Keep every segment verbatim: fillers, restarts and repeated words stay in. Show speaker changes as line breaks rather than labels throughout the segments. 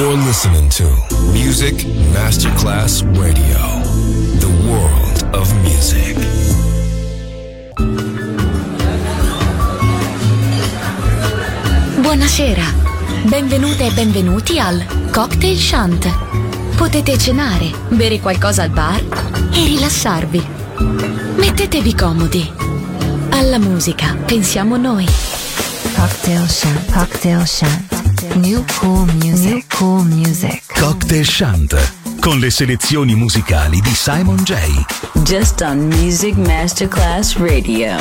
You're listening to Music Masterclass Radio, the world of music.
Buonasera, benvenute e benvenuti al Cocktail Shant. Potete cenare, bere qualcosa al bar e rilassarvi. Mettetevi comodi. Alla musica pensiamo noi.
Cocktail Shant, Cocktail Shant. New cool music, New cool music.
Cocktail Shant, con le selezioni musicali di Simon J.
Just on Music Masterclass Radio.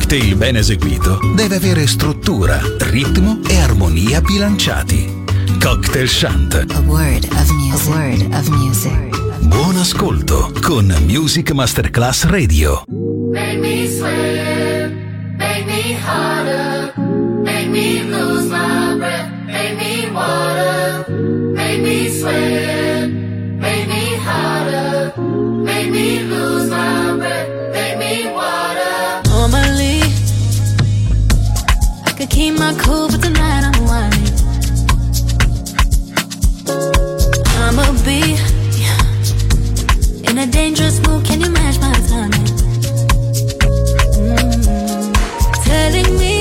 cocktail ben eseguito deve avere struttura, ritmo e armonia bilanciati. Cocktail Shant.
A word of music. A word of music.
Buon ascolto con Music Masterclass Radio.
Make me sweat, make me harder, make me lose my breath, make me water, make me sweat, make me harder, make me lose my breath, make me water.
Normally, I could keep my cool, but tonight I'm whining. I'ma be in a dangerous mood, can you match my timing? Mm-hmm. Telling me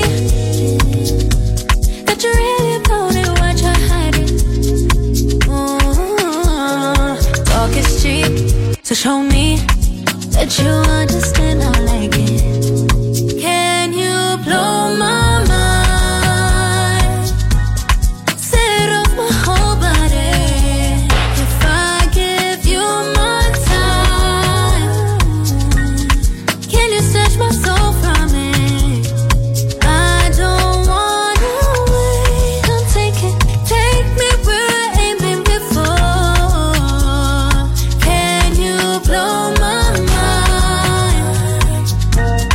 that you really about it, what you're hiding. Mm-hmm. Talk is cheap, so show me that you understand I like it. Can you blow my mind? Set off my whole body. If I give you my time, can you snatch my soul from it? I don't wanna wait. Come take it, take me where I ain't been before. Can you blow my mind?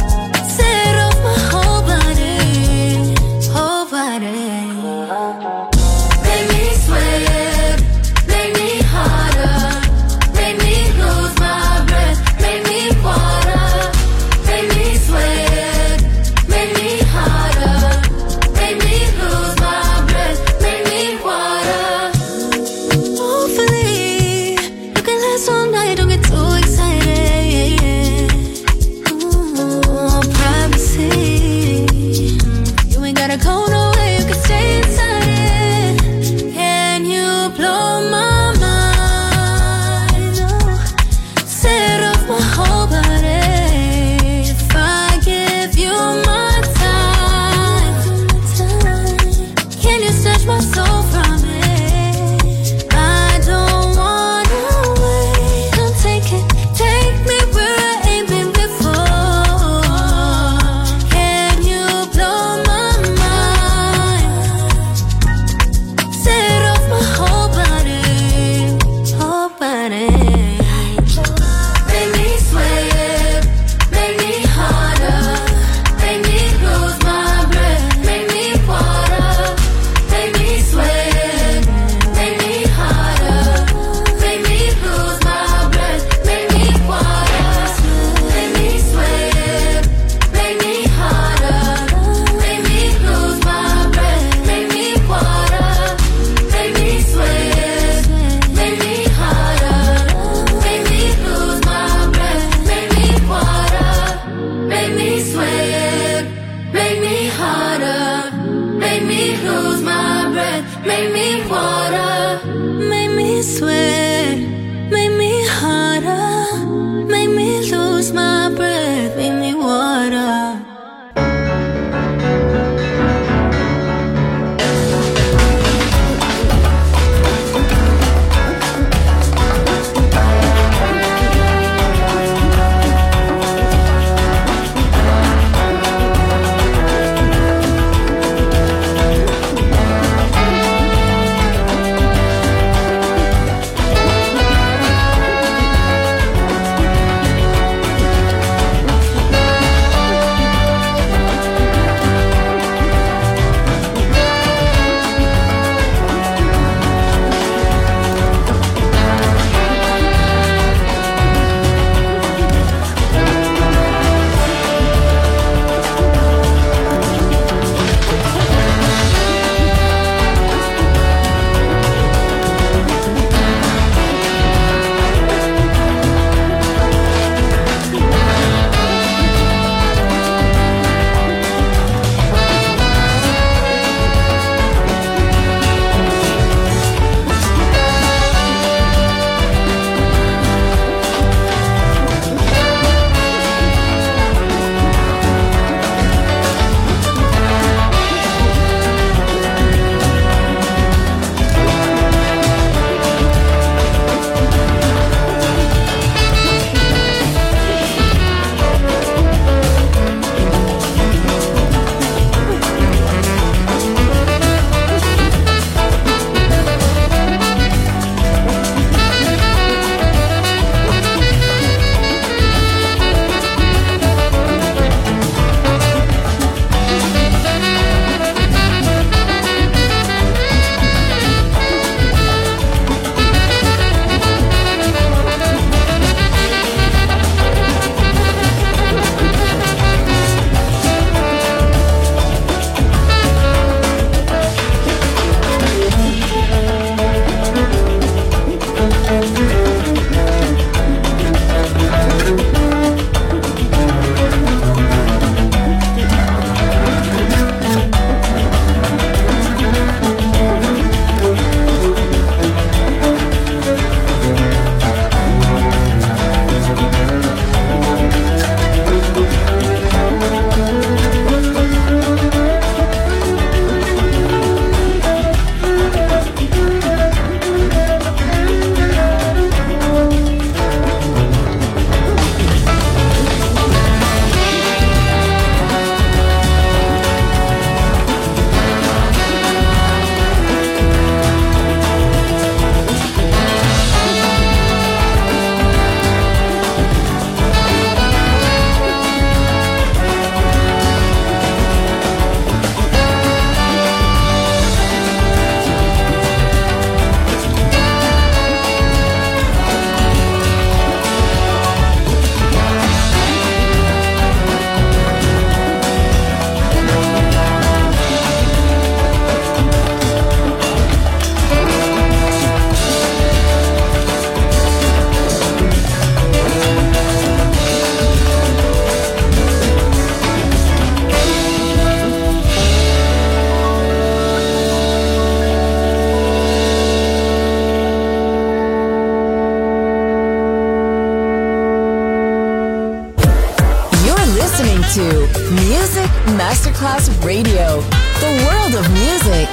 to Music Masterclass Radio, the world of music.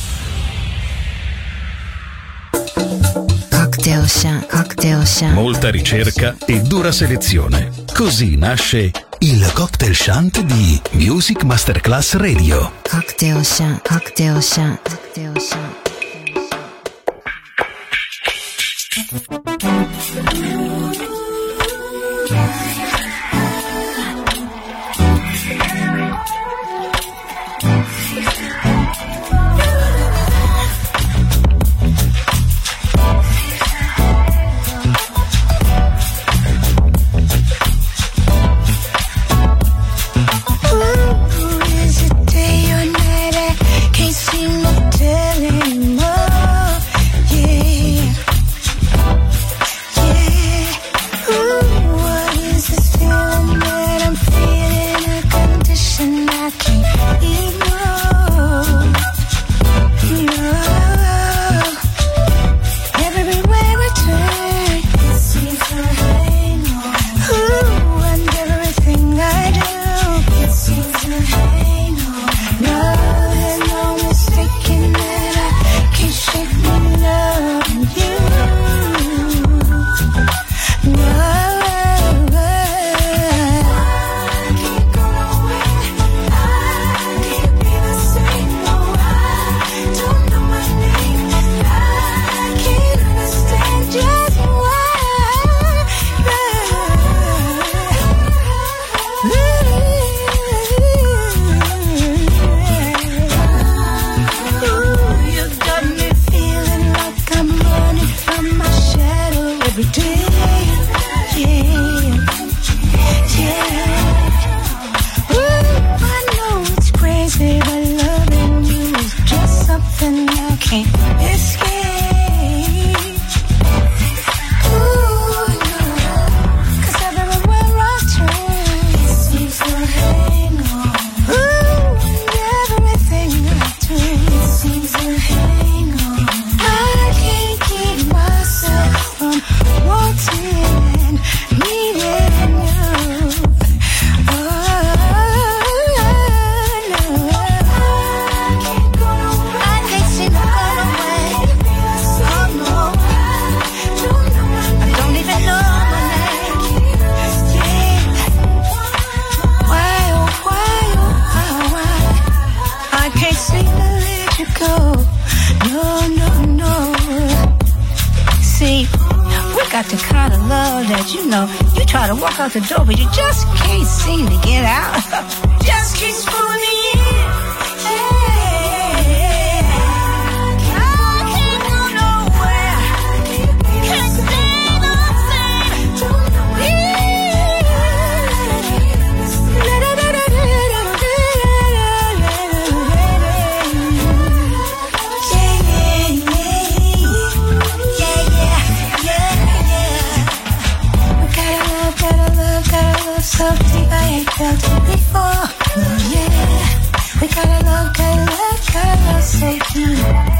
Cocktail Shant, Cocktail Shant.
Molta ricerca e dura selezione. Così nasce il Cocktail Shant di Music Masterclass Radio.
Cocktail Shant, Cocktail Shant, Cocktail Shant.
Out the door, but you just can't seem to get out. Just keeps pulling me in. Yeah. I can't go nowhere. Can't stay the same. Yeah. So deep I ain't felt it before. Oh yeah, we gotta love, gotta love, gotta love so deep.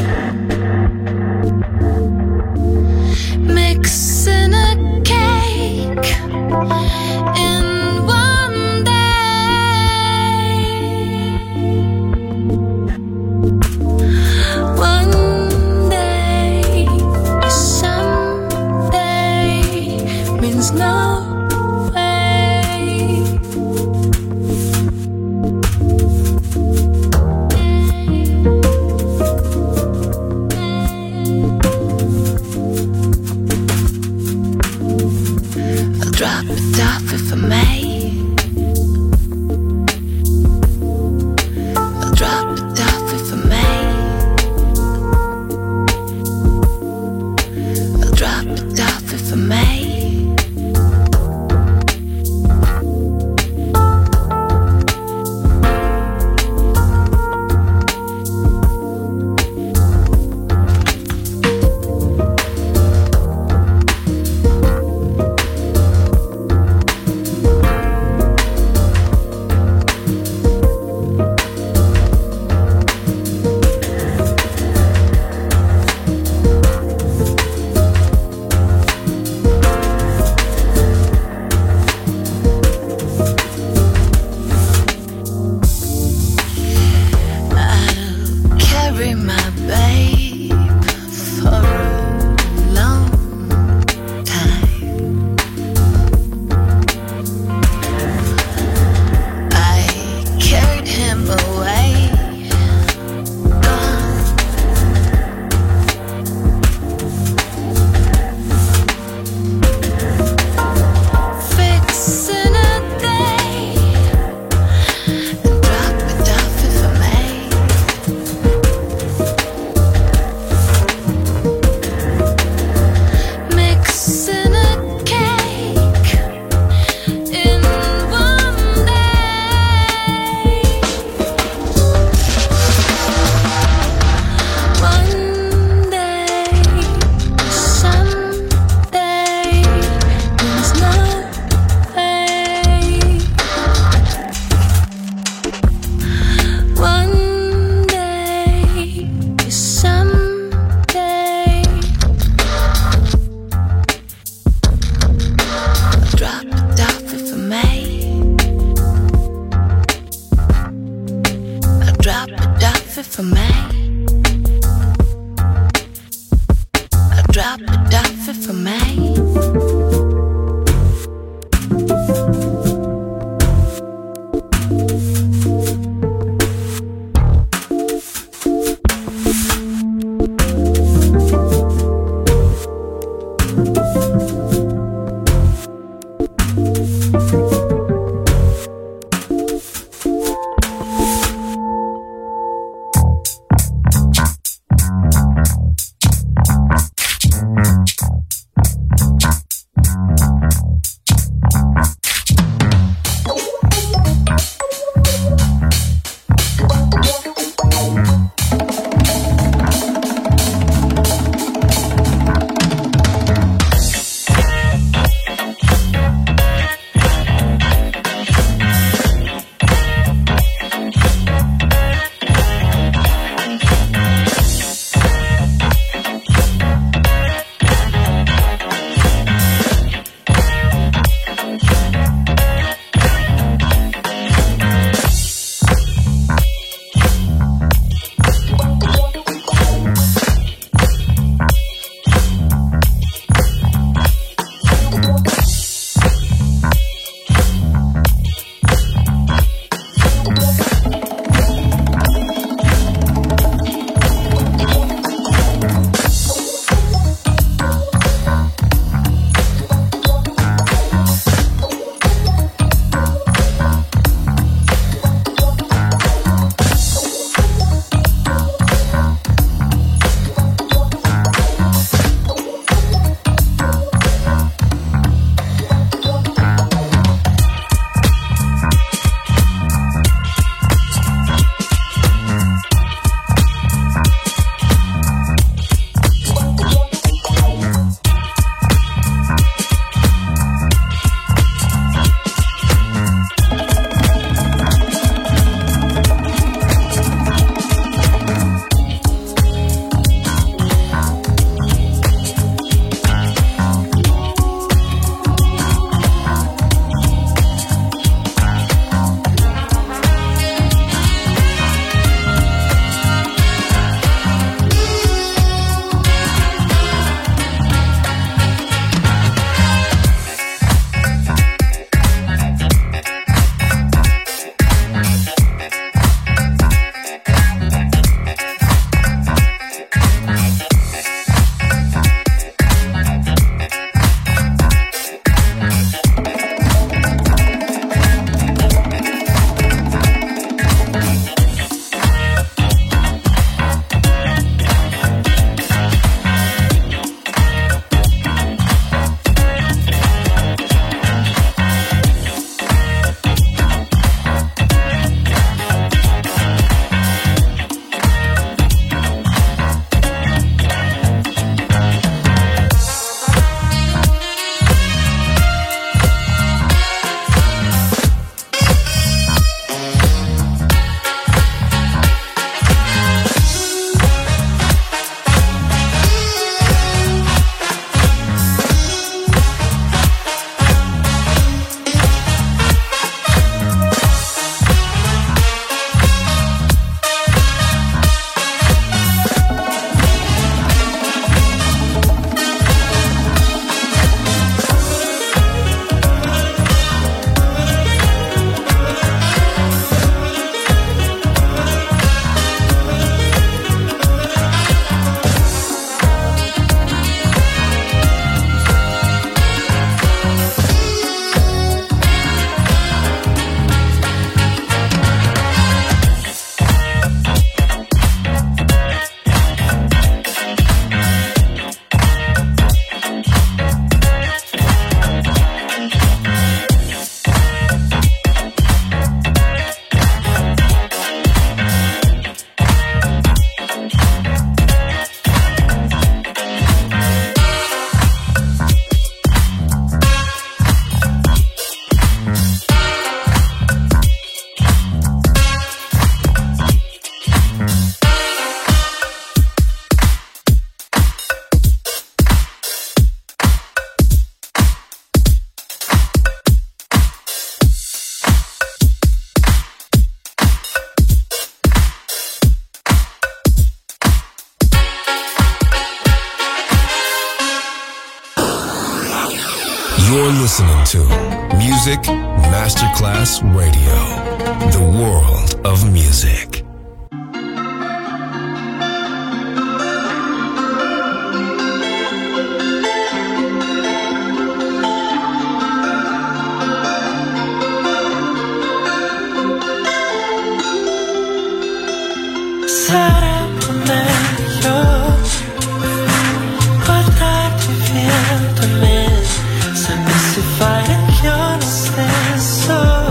Mix in a cake.
You're listening to Music Masterclass Radio, the world of music.
Sarebbe meglio guardarti via da me, sapessi fare anch'io lo stesso,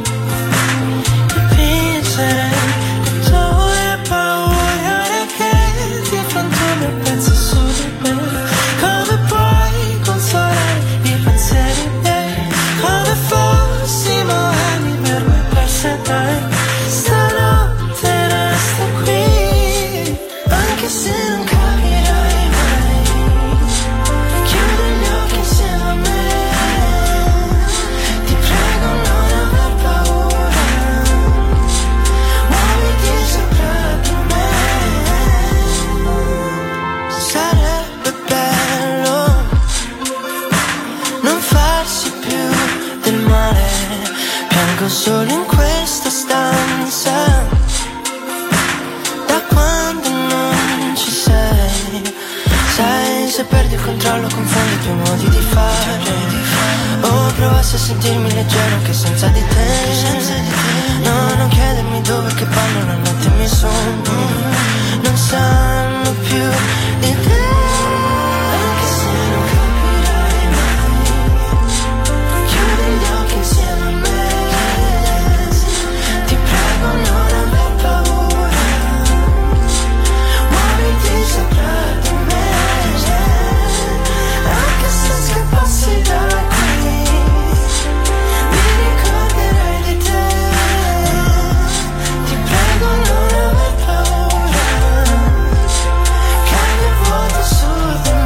dipingere le tue paure che ti frantumi e pensi su di me. Come puoi consolare i pensieri miei, come fossimo anime per me perse dai. Stanotte resto qui, anche se non capirai mai. Chiudi gli occhi insieme a me, ti prego non aver paura, muoviti sopra di me. Sarebbe bello non farsi più del male, piango solo in questa stanza da quando non ci sei. Sai, se perdi il controllo confondi i tuoi modi di fare. Oh, provassi a sentirmi leggero anche senza di te. No, non chiedermi dove che vanno la notte e mi sogni non sanno più di te. Anche se non capirai mai, chiudi gli occhi insieme a me, ti prego non aver paura, muoviti sopra di me. Anche se scappassi da qui, mi ricorderai di te. Ti prego non aver paura, cade il vuoto su di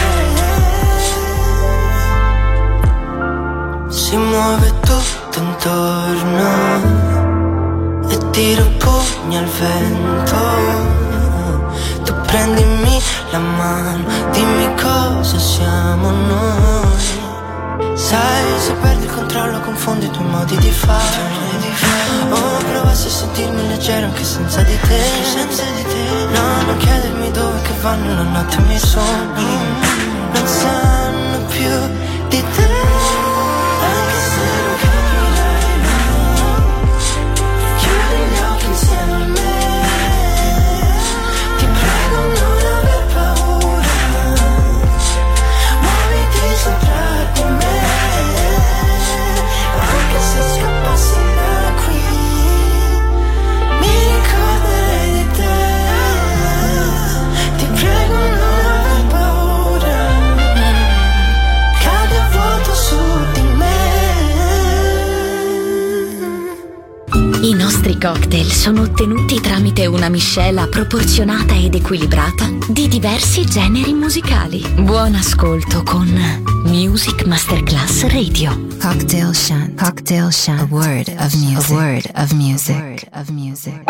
me. Si muove tutto intorno e tiro pugni al vento. Tu prendimi la mano, dimmi cosa siamo noi. Sai, se perdi il controllo confondi i tuoi modi di fare. Oh, provassi a sentirmi leggero anche senza di te. No, non chiedermi dove che vanno la notte e mi sogni non sanno più di te. Anche se non capirai mai, chiudi gli occhi insieme a me, ti prego non aver paura, muoviti sopra di me. Anche se scappassi da qui, mi ricorderei di te. Ti prego non aver paura, cade il vuoto su di me.
I nostri cocktail sono ottenuti tramite una miscela proporzionata ed equilibrata di diversi generi musicali. Buon ascolto con Music Masterclass Radio.
Cocktail Shant. Cocktail Shant. A word of music. A word of music. A word of music.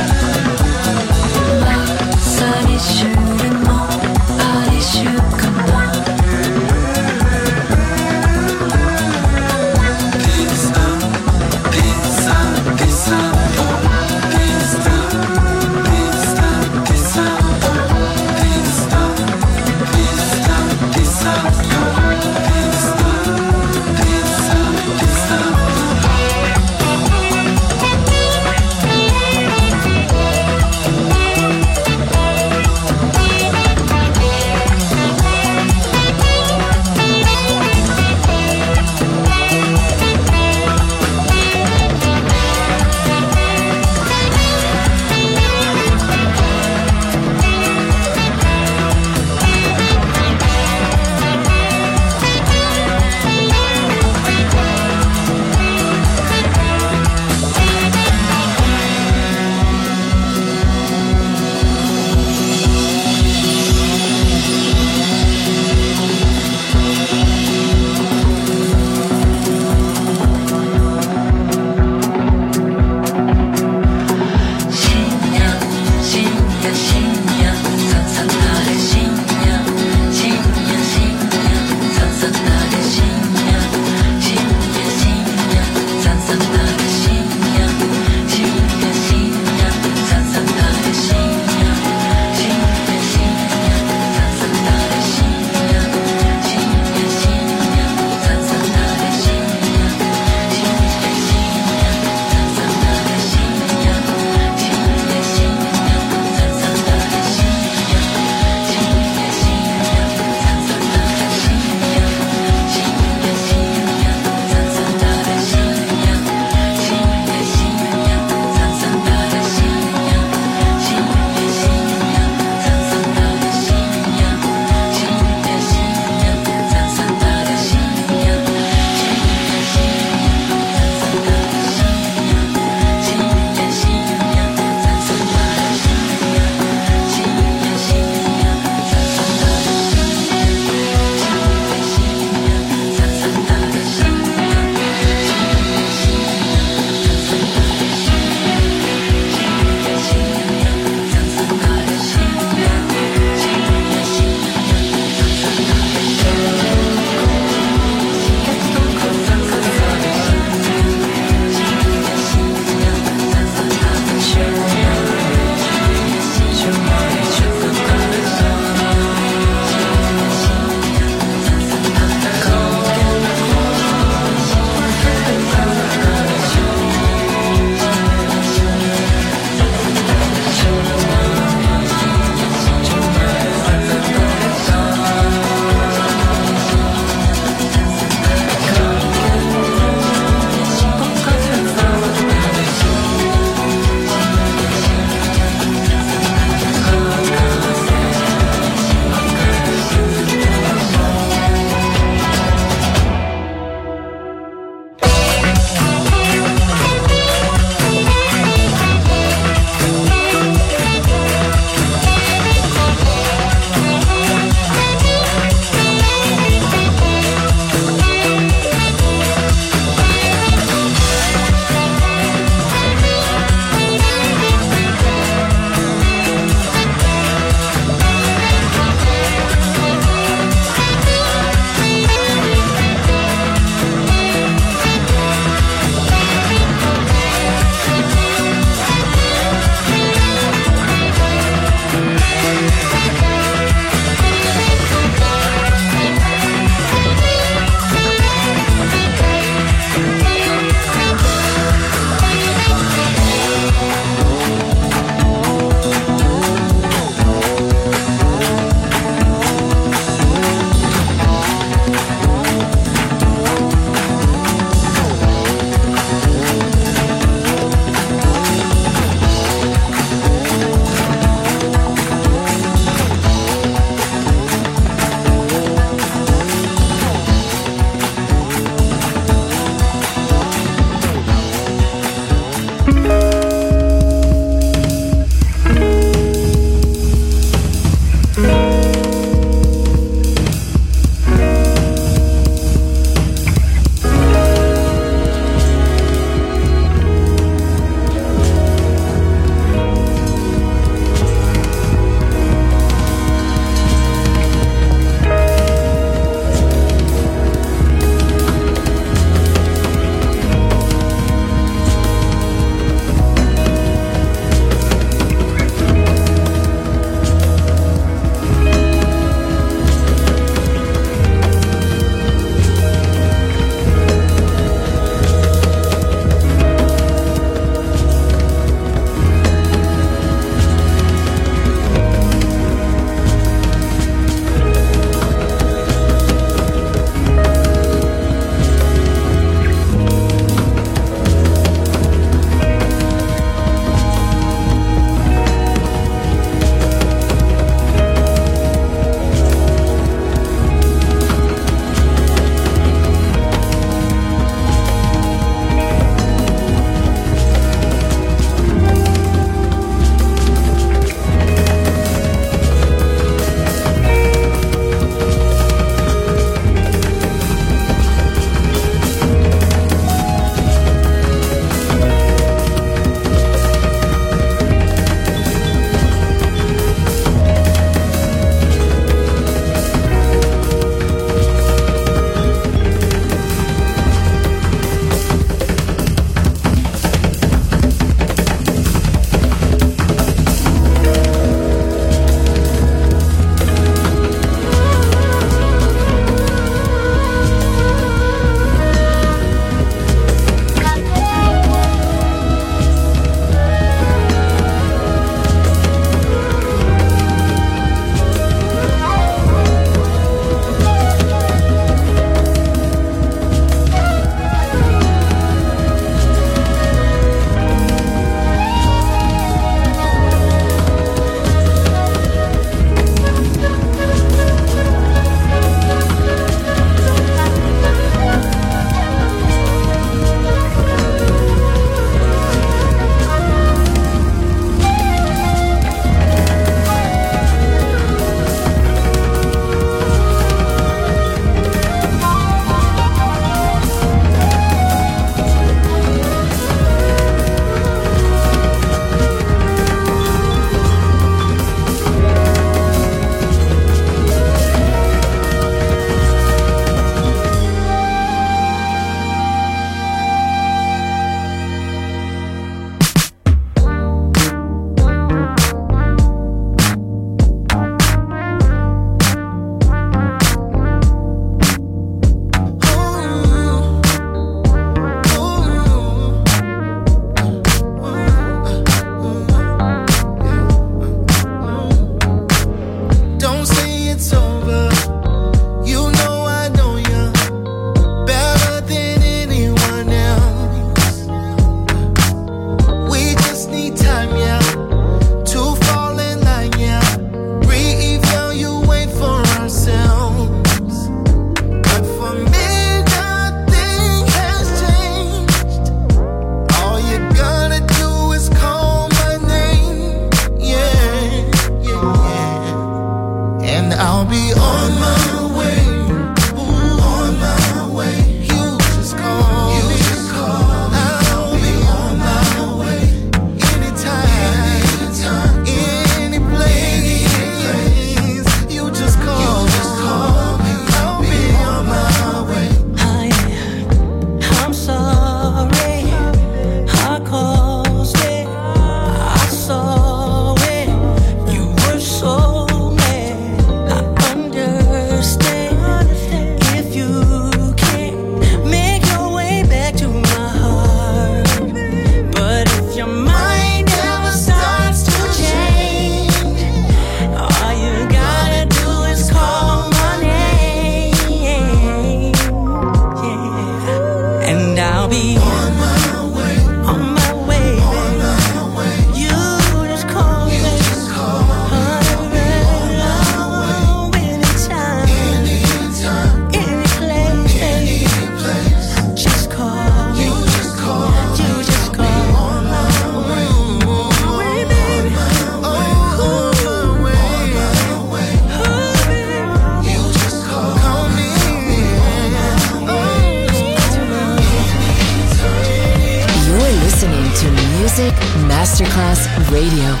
Music Masterclass Radio.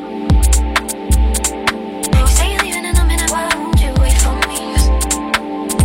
Say you're leaving in a minute, why won't you wait for me?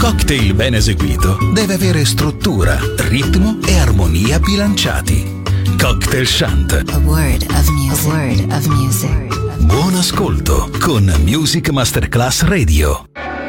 cocktail ben eseguito deve avere struttura, ritmo e armonia bilanciati. Cocktail Shant.
A word of music. A word of music.
Buon ascolto con Music Masterclass Radio.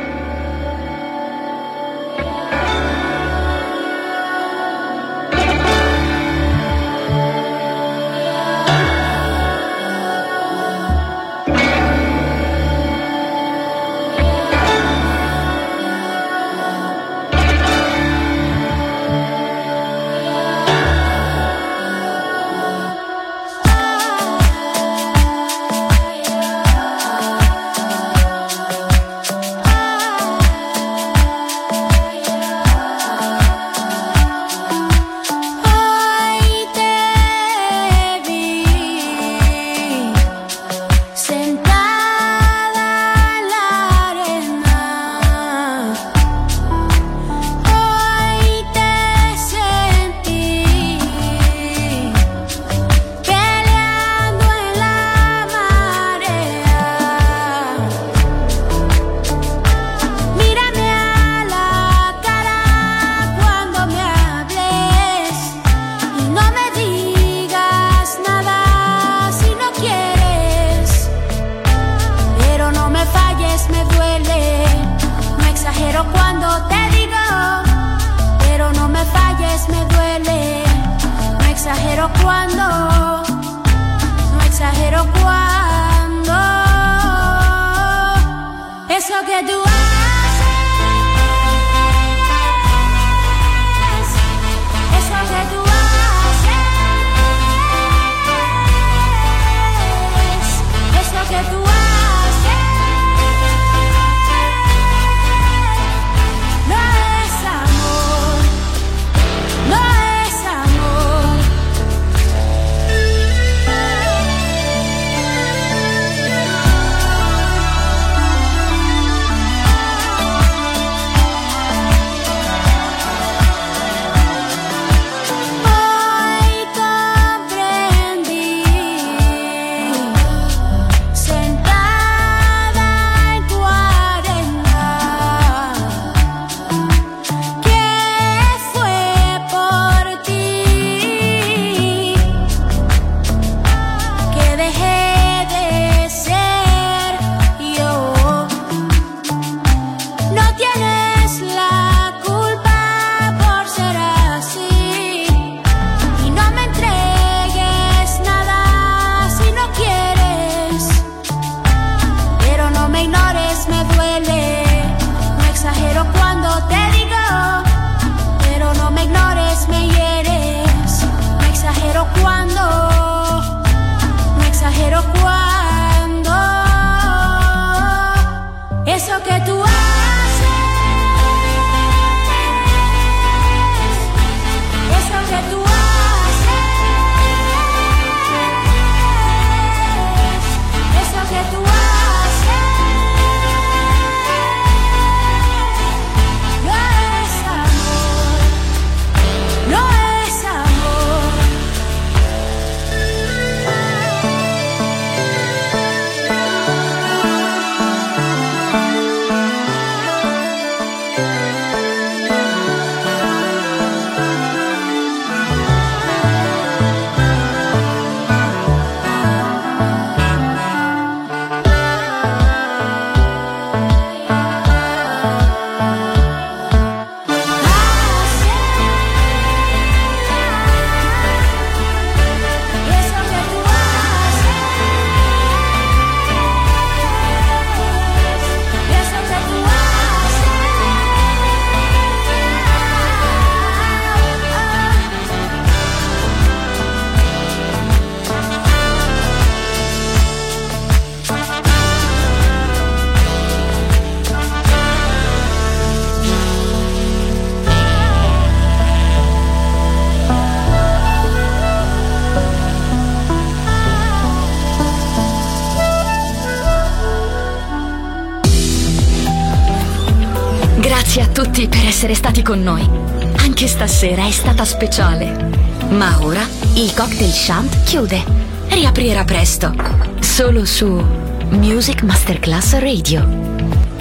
Grazie a tutti per essere stati con noi. Anche stasera è stata speciale. Ma ora il Cocktail Shant chiude. Riaprirà presto. Solo su Music Masterclass Radio.
Cocktail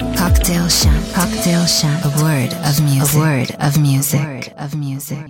Cocktail Chant. Cocktail Chant. A word of music. A word of music. A word of music.